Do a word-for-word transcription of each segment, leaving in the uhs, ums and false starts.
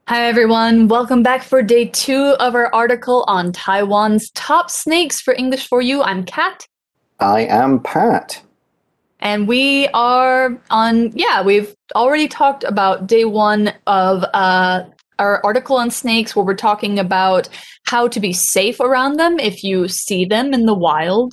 Hi, everyone. Welcome back for day two of our article on Taiwan's top snakes for English for You. I'm Kat. I am Pat. And we are on, yeah, we've already talked about day one of uh, our article on snakes, where we're talking about how to be safe around them if you see them in the wild.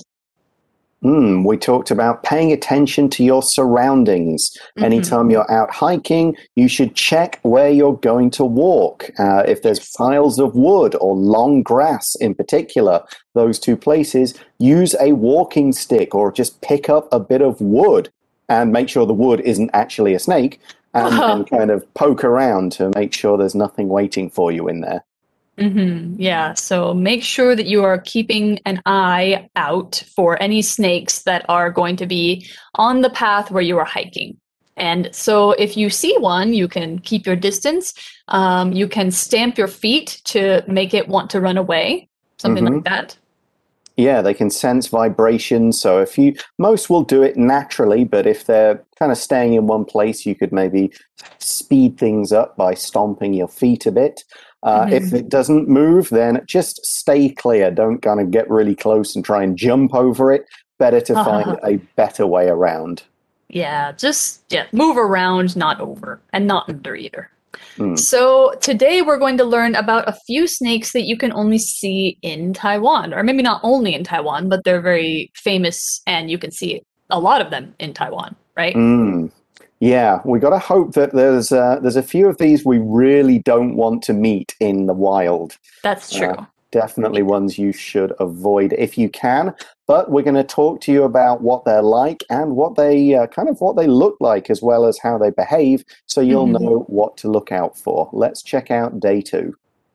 Mm, we talked about paying attention to your surroundings. Mm-hmm. Anytime you're out hiking, you should check where you're going to walk. Uh, if there's Yes. piles of wood or long grass in particular, those two places, use a walking stick or just pick up a bit of wood and make sure the wood isn't actually a snake and, and kind of poke around to make sure there's nothing waiting for you in there. Mm-hmm. Yeah, so make sure that you are keeping an eye out for any snakes that are going to be on the path where you are hiking. And so if you see one, you can keep your distance. Um, you can stamp your feet to make it want to run away, something Mm-hmm. like that. Yeah, they can sense vibrations. So if you, most will do it naturally, but if they're kind of staying in one place, you could maybe speed things up by stomping your feet a bit. Uh, Mm-hmm. If it doesn't move, then just stay clear. Don't kind of get really close and try and jump over it. Better to find a better way around. Yeah, just yeah, move around, not over, and not under either. Mm. So today we're going to learn about a few snakes that you can only see in Taiwan, or maybe not only in Taiwan, but they're very famous and you can see a lot of them in Taiwan, right? Mm. Yeah, we got to hope that there's uh, there's a few of these we really don't want to meet in the wild. That's true. Uh, definitely ones you should avoid if you can. But we're going to talk to you about what they're like and what they uh, kind of what they look like, as well as how they behave, so you'll Mhm. know what to look out for. Let's check out day two.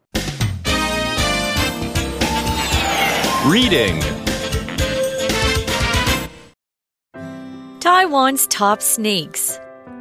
Reading. Taiwan's top snakes.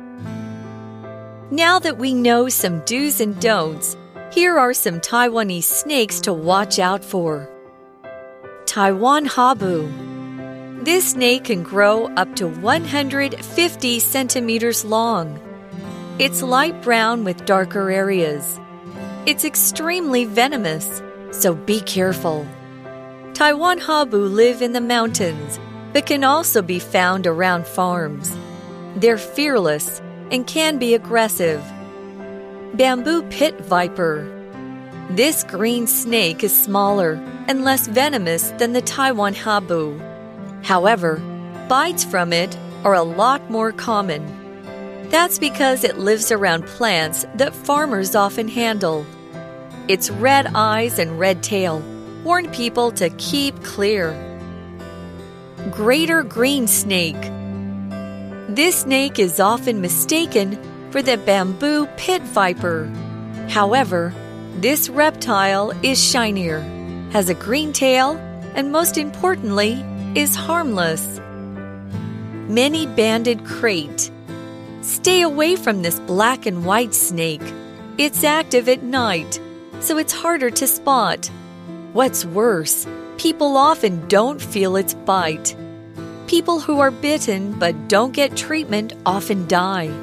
Now that we know some do's and don'ts, here are some Taiwanese snakes to watch out for. Taiwan Habu. This snake can grow up to one hundred fifty centimeters long. It's light brown with darker areas. It's extremely venomous, so be careful. Taiwan Habu live in the mountains, but can also be found around farms. They're fearless and can be aggressive. Bamboo pit viper. This green snake is smaller and less venomous than the Taiwan Habu. However, bites from it are a lot more common. That's because it lives around plants that farmers often handle. Its red eyes and red tail warn people to keep clear. Greater green snake. This snake is often mistaken for the bamboo pit viper. However, this reptile is shinier, has a green tail, and most importantly, is harmless. Many-banded krait. Stay away from this black and white snake. It's active at night, so it's harder to spot. What's worse, people often don't feel its bite. People who are bitten but don't get treatment often die.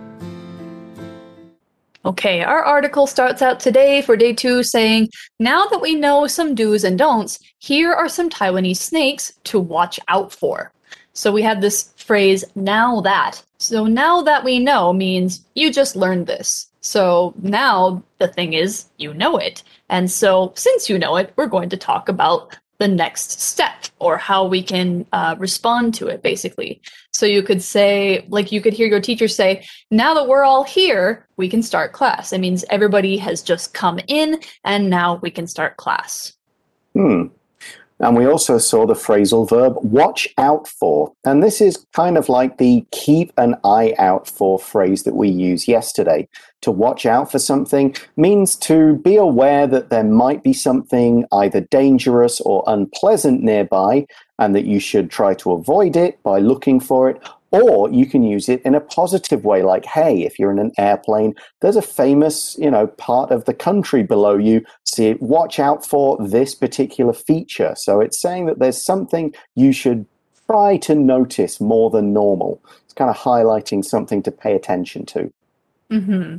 Okay, our article starts out today for day two saying, now that we know some do's and don'ts, here are some Taiwanese snakes to watch out for. So we have this phrase, now that. So now that we know means you just learned this. So now the thing is, you know it. And so since you know it, we're going to talk about the next step, or how we can uh, respond to it, basically. So you could say, like you could hear your teacher say, now that we're all here, we can start class. It means everybody has just come in and now we can start class. Hmm. And we also saw the phrasal verb watch out for. And this is kind of like the keep an eye out for phrase that we used yesterday. To watch out for something means to be aware that there might be something either dangerous or unpleasant nearby, and that you should try to avoid it by looking for it. Or you can use it in a positive way, like, hey, if you're in an airplane, there's a famous, you know, part of the country below you. See, watch out for this particular feature. So it's saying that there's something you should try to notice more than normal. It's kind of highlighting something to pay attention to. Mm-hmm.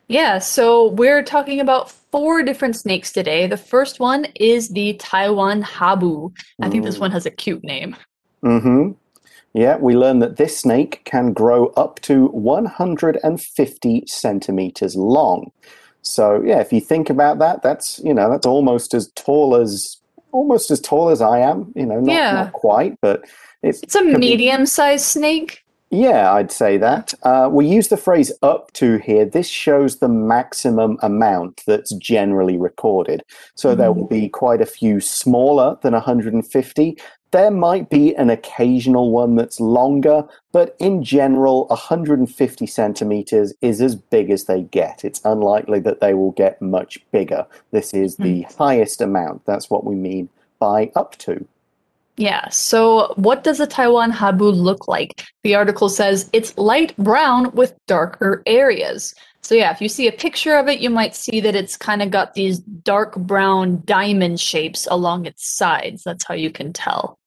Yeah, so we're talking about four different snakes today. The first one is the Taiwan Habu. I think this one Mm. has a cute name. Mm-hmm. Yeah, we learned that this snake can grow up to one hundred fifty centimeters long. So yeah, if you think about that, that's you know that's almost as tall as almost as tall as I am. You know, not not Yeah, quite, but it's it's a could be. medium-sized snake. Yeah, I'd say Yeah. that. Uh, we use the phrase up to here. This shows the maximum amount that's generally recorded. So there will Mhm. be quite a few smaller than one hundred fifty. There might be an occasional one that's longer, but in general, one hundred fifty centimeters is as big as they get. It's unlikely that they will get much bigger. This is Mm. the highest amount. That's what we mean by up to. Yeah, so what does a Taiwan Habu look like? The article says it's light brown with darker areas. So yeah, if you see a picture of it, you might see that it's kind of got these dark brown diamond shapes along its sides. That's how you can tell.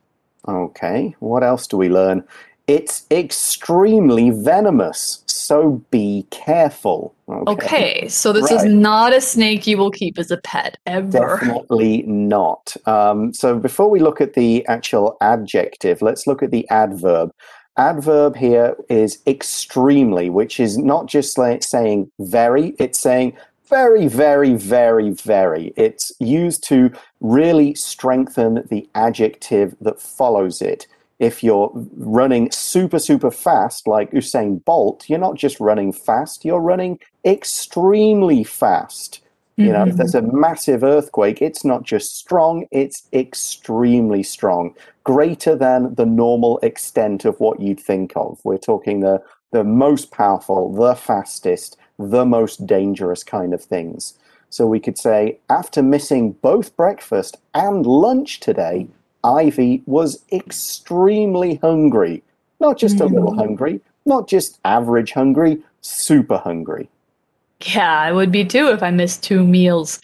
Okay, what else do we learn? It's extremely venomous, so be careful. Okay, Okay, so this is right. not a snake you will keep as a pet, ever. Definitely not. Um, so before we look at the actual adjective, let's look at the adverb. Adverb here is extremely, which is not just like saying very, it's saying very, very, very, very. It's used to really strengthen the adjective that follows it. If you're running super, super fast, like Usain Bolt, you're not just running fast, you're running extremely fast. You know, if Mhm. there's a massive earthquake, it's not just strong, it's extremely strong, greater than the normal extent of what you'd think of. We're talking the, the most powerful, the fastest, the most dangerous kind of things. So we could say, after missing both breakfast and lunch today, Ivy was extremely hungry. Not just a little Mhm. hungry, not just average hungry, super hungry. Yeah, I would be too if I missed two meals.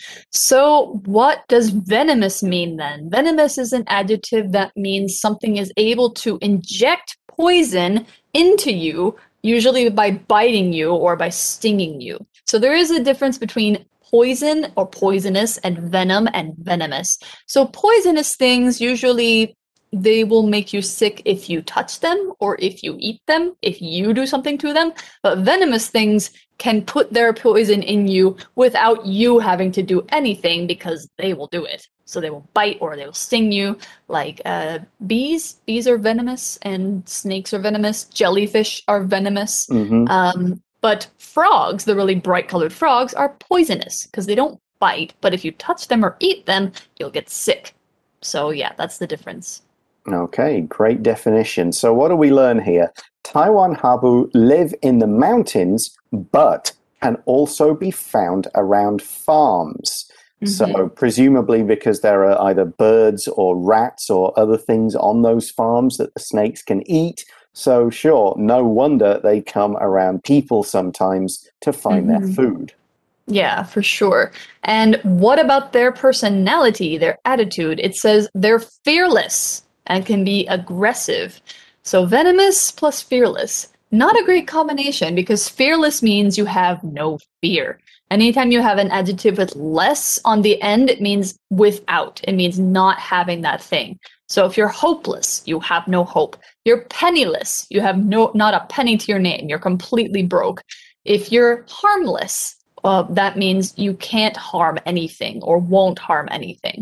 So, what does venomous mean then? Venomous is an adjective that means something is able to inject poison into you, usually by biting you or by stinging you. So, there is a difference between poison or poisonous and venom and venomous. So, poisonous things usually they will make you sick if you touch them or if you eat them, if you do something to them. But venomous things can put their poison in you without you having to do anything because they will do it. So they will bite or they will sting you. Like uh, bees, bees are venomous, and snakes are venomous. Jellyfish are venomous. Hmm. Um, but frogs, the really bright colored frogs, are poisonous because they don't bite. But if you touch them or eat them, you'll get sick. So yeah, that's the difference. Okay, great definition. So, what do we learn here? Taiwan habu live in the mountains, but can also be found around farms. Hmm. So, presumably, because there are either birds or rats or other things on those farms that the snakes can eat. So, sure, no wonder they come around people sometimes to find their Hmm. food. Yeah, for sure. And what about their personality, their attitude? It says they're fearless and can be aggressive. So venomous plus fearless. Not a great combination because fearless means you have no fear. Anytime you have an adjective with less on the end, it means without. It means not having that thing. So if you're hopeless, you have no hope. You're penniless, you have no not a penny to your name. You're completely broke. If you're harmless, uh, that means you can't harm anything or won't harm anything.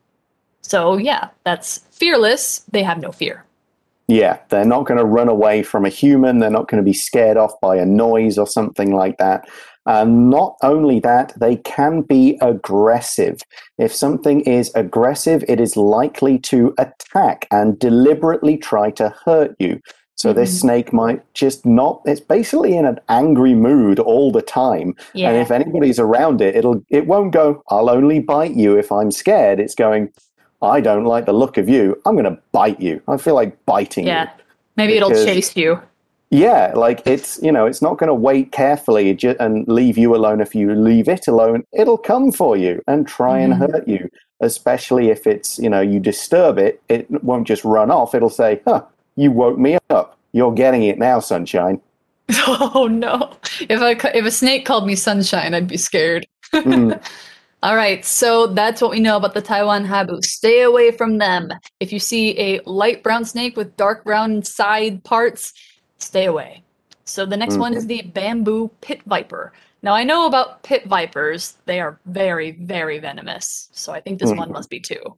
So, yeah, that's fearless. They have no fear. Yeah, they're not going to run away from a human. They're not going to be scared off by a noise or something like that. And not only that, they can be aggressive. If something is aggressive, it is likely to attack and deliberately try to hurt you. So this Hmm. snake might just not, it's basically in an angry mood all the time. And if Yeah. anybody's around it, it'll, it won't go, I'll only bite you if I'm scared. It's going, I don't like the look of you. I'm going to bite you. I feel like biting you Yeah. Maybe it'll because, chase you. yeah, like it's, you know, it's not going to wait carefully ju- and leave you alone. If you leave it alone, it'll come for you and try and Hmm. hurt you, especially if it's, you know, you disturb it. It won't just run off. It'll say, huh, you woke me up. You're getting it now, sunshine. Oh no. If a if a snake called me sunshine, I'd be scared. Mm. All right, so that's what we know about the Taiwan habu. Stay away from them. If you see a light brown snake with dark brown side parts, stay away. So the next one Mhm. is the bamboo pit viper. Now I know about pit vipers. They are very, very venomous. So I think this one Mhm. must be too.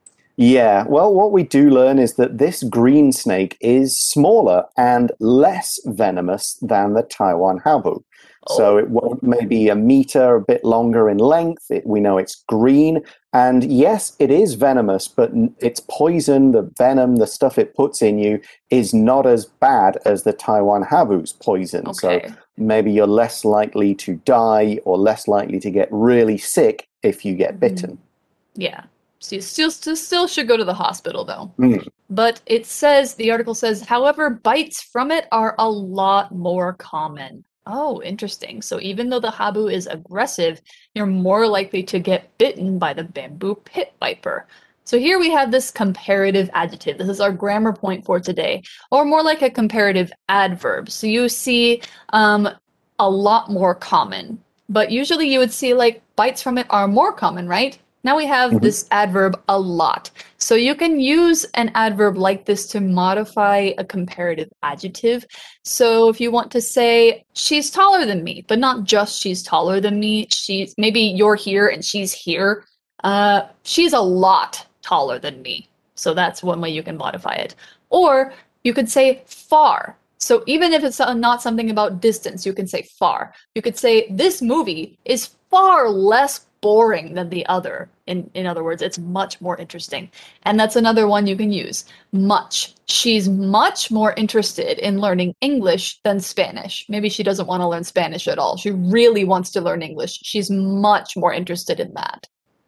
Yeah, well, what we do learn is that this green snake is smaller and less venomous than the Taiwan habu. So Oh, it won't maybe a meter, a bit longer in length. It, we know it's green. And yes, it is venomous, but n- its poison, the venom, the stuff it puts in you, is not as bad as the Taiwan habu's poison. So okay. maybe you're less likely to die or less likely to get really sick if you get Mhm. bitten. Yeah. So you still, still still should go to the hospital though. Mm. But it says, the article says, however, bites from it are a lot more common. Oh, interesting. So even though the habu is aggressive, you're more likely to get bitten by the bamboo pit viper. So here we have this comparative adjective. This is our grammar point for today, or more like a comparative adverb. So you see um, a lot more common, but usually you would see like bites from it are more common, right? Now we have Mhm. this adverb a lot. So you can use an adverb like this to modify a comparative adjective. So if you want to say she's taller than me, but not just she's taller than me, she's maybe you're here and she's here. Uh, she's a lot taller than me. So that's one way you can modify it. Or you could say far. So even if it's not something about distance, you can say far. You could say this movie is far less boring than the other. In in other words, it's much more interesting. And that's another one you can use. Much. She's much more interested in learning English than Spanish. Maybe she doesn't want to learn Spanish at all. She really wants to learn English. She's much more interested in that.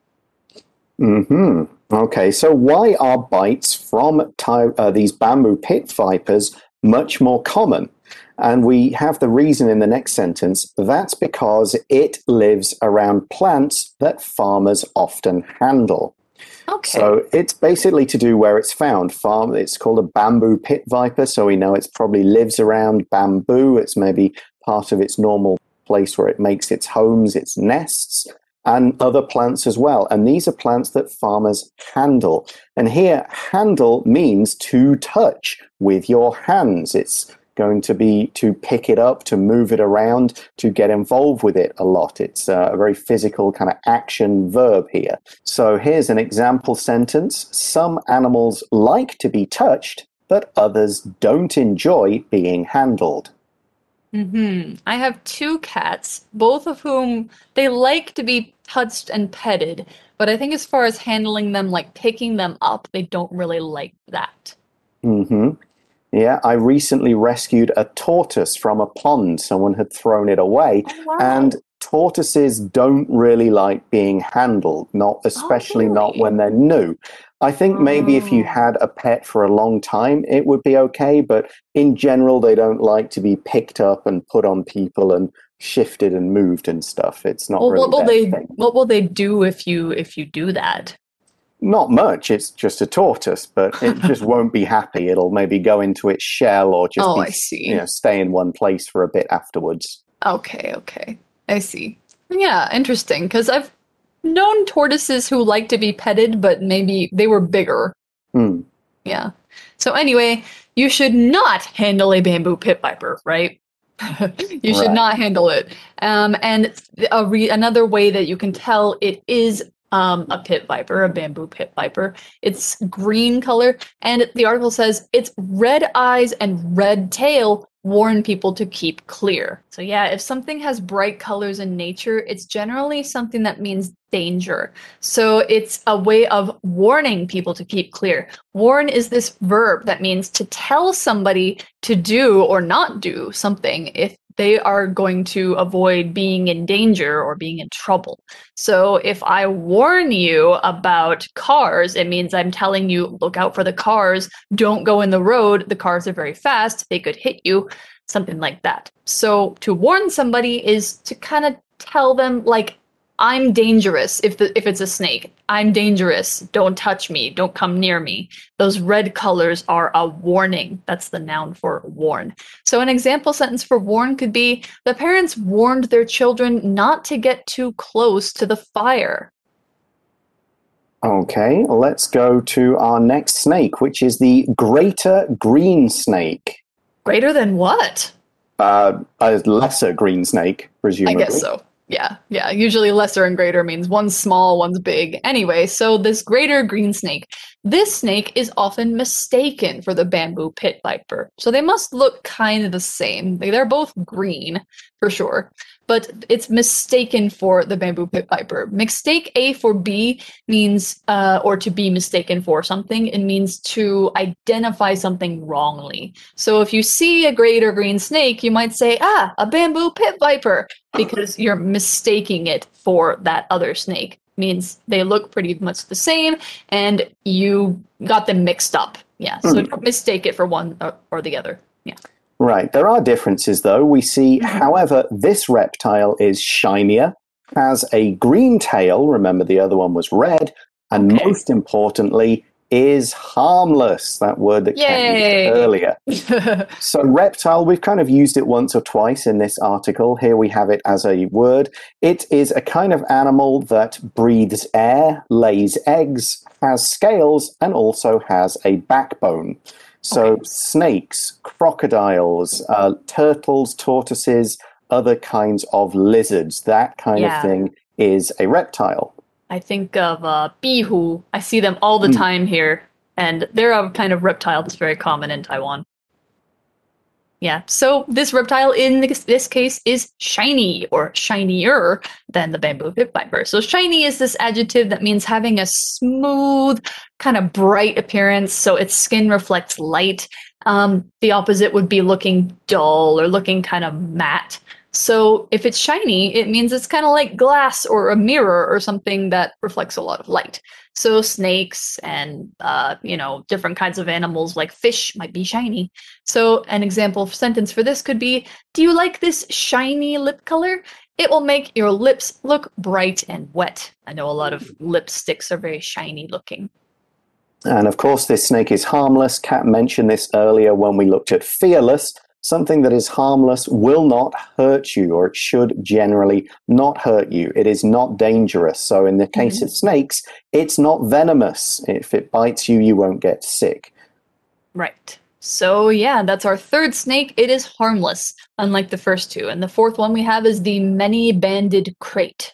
Hmm. Okay, so why are bites from ty- uh, these bamboo pit vipers much more common? And we have the reason in the next sentence. That's because it lives around plants that farmers often handle. Okay. So it's basically to do where it's found. Farm. It's called a bamboo pit viper, so we know it probably lives around bamboo. It's maybe part of its normal place where it makes its homes, its nests, and other plants as well. And these are plants that farmers handle. And here, handle means to touch with your hands. It's going to be to pick it up, to move it around, to get involved with it a lot. It's uh, a very physical kind of action verb here. So here's an example sentence. Some animals like to be touched, but others don't enjoy being handled. Hmm. I have two cats, both of whom they like to be touched and petted, but I think as far as handling them, like picking them up, they don't really like that. Hmm. Yeah, I recently rescued a tortoise from a pond. Someone had thrown it away, Oh, and wow. tortoises don't really like being handled, not Oh, especially not really? when they're new. I think maybe if you Oh. had a pet for a long time, it would be okay, but in general, they don't like to be picked up and put on people and shifted and moved and stuff. It's not Well, what really will their they thing. what will they do if you if you do that? Not much. It's just a tortoise, but it just won't be happy. It'll maybe go into its shell or just Oh, be, I you know, see. stay in one place for a bit afterwards. Okay, okay. I see. Yeah, interesting. Because I've known tortoises who like to be petted, but maybe they were bigger. Hmm. Yeah. So anyway, you should not handle a bamboo pit viper, right? You should Right. not handle it. Um, and a re another way that you can tell it is um, a pit viper, a bamboo pit viper, it's green color, and the article says its red eyes and red tail warn people to keep clear. So yeah, if something has bright colors in nature, it's generally something that means danger. So it's a way of warning people to keep clear. Warn is this verb that means to tell somebody to do or not do something if they are going to avoid being in danger or being in trouble. So if I warn you about cars, it means I'm telling you, look out for the cars, don't go in the road, the cars are very fast, they could hit you, something like that. So to warn somebody is to kind of tell them, like, I'm dangerous if the if it's a snake. I'm dangerous. Don't touch me. Don't come near me. Those red colors are a warning. That's the noun for warn. So an example sentence for warn could be the parents warned their children not to get too close to the fire. Okay, let's go to our next snake, which is the greater green snake. Greater than what? Uh, a lesser green snake, presumably. I guess so. Yeah, yeah. Usually lesser and greater means one's small, one's big. Anyway, so this greater green snake, this snake is often mistaken for the bamboo pit viper. So they must look kind of the same. They're both green, for sure. But it's mistaken for the bamboo pit viper. Mistake A for B means, uh, or to be mistaken for something, it means to identify something wrongly. So if you see a greater green snake, you might say, ah, a bamboo pit viper, because you're mistaking it for that other snake. Means they look pretty much the same, and you got them mixed up. Yeah, so mm. don't mistake it for one or, or the other. Yeah. Right. There are differences, though. We see, mm-hmm. however, this reptile is shinier, has a green tail. Remember, the other one was red. And okay. most importantly, is harmless. That word that came earlier. So reptile, we've kind of used it once or twice in this article. Here we have it as a word. It is a kind of animal that breathes air, lays eggs, has scales, and also has a backbone. So okay. snakes, crocodiles, uh, turtles, tortoises, other kinds of lizards, that kind yeah. of thing is a reptile. I think of uh, bihu. I see them all the mm. time here, and they're a kind of reptile that's very common in Taiwan. Yeah, so this reptile in this, this case is shiny or shinier than the bamboo pit viper. So shiny is this adjective that means having a smooth, kind of bright appearance, so its skin reflects light. Um, the opposite would be looking dull or looking kind of matte. So if it's shiny, it means it's kind of like glass or a mirror or something that reflects a lot of light. So snakes and, uh, you know, different kinds of animals like fish might be shiny. So an example sentence for this could be, do you like this shiny lip color? It will make your lips look bright and wet. I know a lot of lipsticks are very shiny looking. And of course, this snake is harmless. Kat mentioned this earlier when we looked at fearless. Something that is harmless will not hurt you, or it should generally not hurt you. It is not dangerous. So in the case mm-hmm. of snakes, it's not venomous. If it bites you, you won't get sick. Right. So yeah, that's our third snake. It is harmless, unlike the first two. And the fourth one we have is the many-banded krait.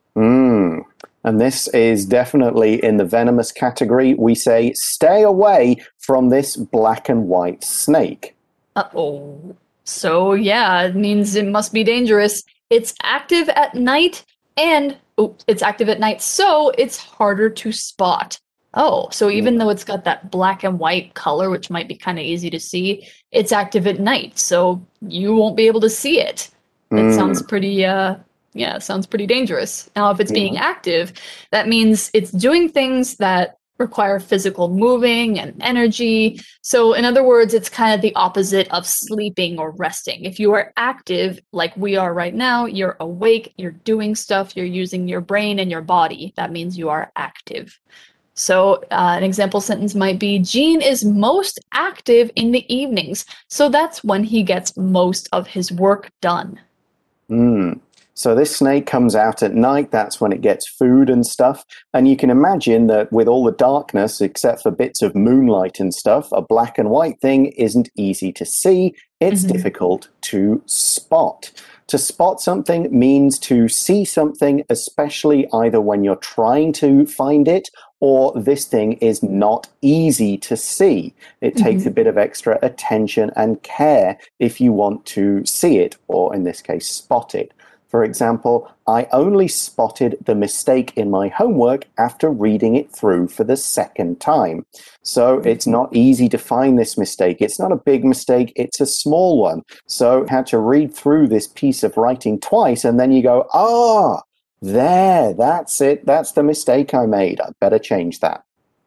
Mm. And this is definitely in the venomous category. We say, stay away from this black and white snake. Uh-oh. So, yeah, it means it must be dangerous. It's active at night, and oh, it's active at night, so it's harder to spot. Oh, so even though it's got that black and white color, which might be kind of easy to see, it's active at night, so you won't be able to see it. That mm. sounds pretty, uh, yeah, sounds pretty dangerous. Now, if it's being yeah. active, that means it's doing things that require physical moving and energy. So in other words, it's kind of the opposite of sleeping or resting. If you are active, like we are right now, you're awake, you're doing stuff, you're using your brain and your body. That means you are active. So uh, an example sentence might be, Gene is most active in the evenings. So that's when he gets most of his work done. Mm. So this snake comes out at night. That's when it gets food and stuff. And you can imagine that with all the darkness, except for bits of moonlight and stuff, a black and white thing isn't easy to see. It's mm-hmm. difficult to spot. To spot something means to see something, especially either when you're trying to find it or this thing is not easy to see. It mm-hmm. takes a bit of extra attention and care if you want to see it, or in this case, spot it. For example, I only spotted the mistake in my homework after reading it through for the second time. So it's not easy to find this mistake. It's not a big mistake, it's a small one. So I had to read through this piece of writing twice, and then you go, ah, there, that's it. That's the mistake I made. I better change that.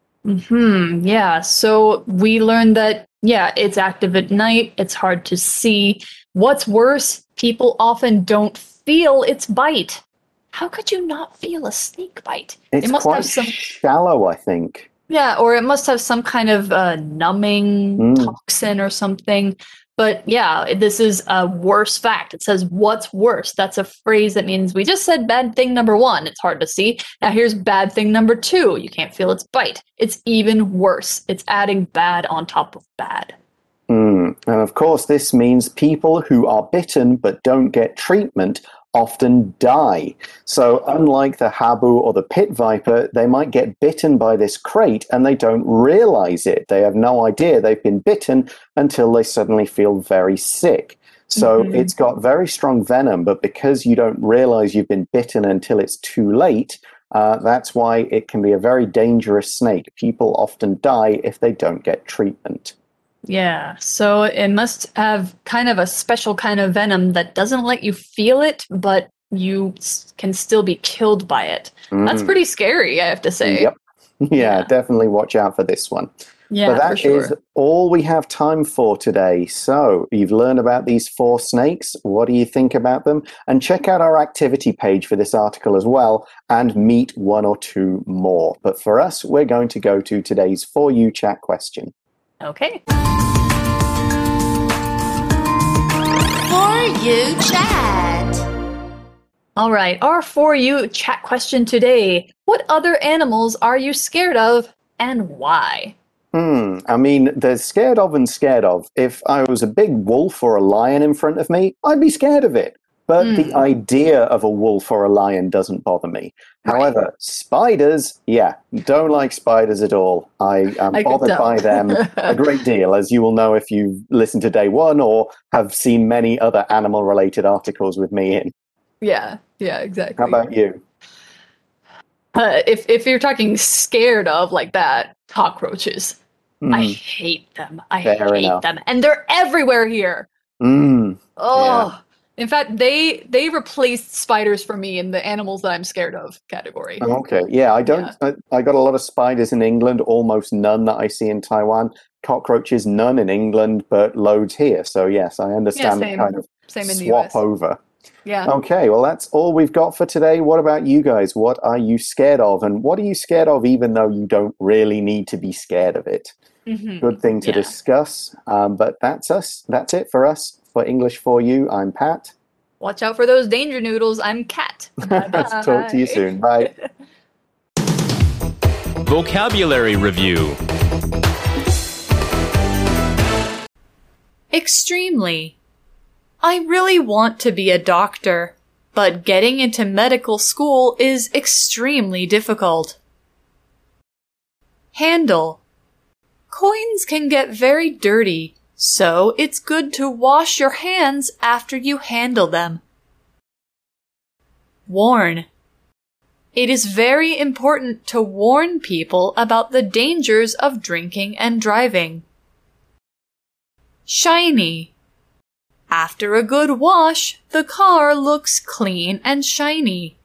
Hmm. Yeah. So we learned that, yeah, it's active at night. It's hard to see. What's worse, people often don't feel its bite. how could you not feel a snake bite? It's it must quite have some, shallow, I think. yeah, or it must have some kind of uh, numbing Mm. toxin or something. But yeah, this is a worse fact. It says, what's worse? That's a phrase that means we just said bad thing number one. It's hard to see. Now here's bad thing number two. You can't feel its bite. It's even worse. It's adding bad on top of bad. Mm. And of course, this means people who are bitten but don't get treatment often die. So unlike the habu or the pit viper, they might get bitten by this krait and they don't realize it. They have no idea they've been bitten until they suddenly feel very sick. So mm-hmm. it's got very strong venom, but because you don't realize you've been bitten until it's too late, uh, that's why it can be a very dangerous snake. People often die if they don't get treatment. Yeah, so it must have kind of a special kind of venom that doesn't let you feel it, but you s- can still be killed by it. Mm. That's pretty scary, I have to say. Yep. Yeah, yeah. Definitely watch out for this one. Yeah, but that for sure. is all we have time for today. So you've learned about these four snakes. What do you think about them? And check out our activity page for this article as well and meet one or two more. But for us, we're going to go to today's For You Chat question. Okay. For You Chat. All right, our For You Chat question today. What other animals are you scared of and why? Hmm. I mean, there's scared of and scared of. If I was a big wolf or a lion in front of me, I'd be scared of it. But mm. the idea of a wolf or a lion doesn't bother me. Right. However, spiders, yeah, don't like spiders at all. I am I bothered by them a great deal, as you will know if you've listened to day one or have seen many other animal-related articles with me in. Yeah, yeah, exactly. How about you? Uh, if if you're talking scared of like that, cockroaches. Mm. I hate them. I Fair hate enough. them. And they're everywhere here. Mm. Oh. Yeah. In fact, they they replaced spiders for me in the animals that I'm scared of category. Okay. Yeah, I don't yeah. I, I got a lot of spiders in England, almost none that I see in Taiwan. Cockroaches, none in England, but loads here. So yes, I understand yeah, the kind of same in swap the U S. over. Yeah. Okay, well, that's all we've got for today. What about you guys? What are you scared of? And what are you scared of even though you don't really need to be scared of it? Mm-hmm. Good thing to yeah. discuss. Um, but that's us. That's it for us. For English For You, I'm Pat. Watch out for those danger noodles. I'm Kat. Talk to you soon. Bye. Vocabulary Review. Extremely. I really want to be a doctor, but getting into medical school is extremely difficult. Handle. Coins can get very dirty, so it's good to wash your hands after you handle them. Warn. It is very important to warn people about the dangers of drinking and driving. Shiny. After a good wash, the car looks clean and shiny.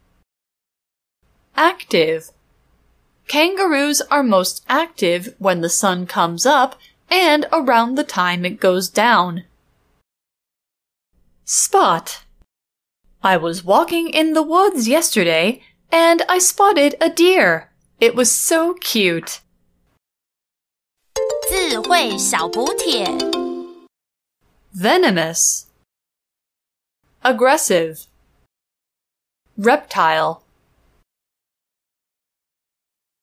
Active. Kangaroos are most active when the sun comes up and around the time it goes down. Spot. I was walking in the woods yesterday and I spotted a deer. It was so cute. 智慧小補帖 Venomous. Aggressive. Reptile.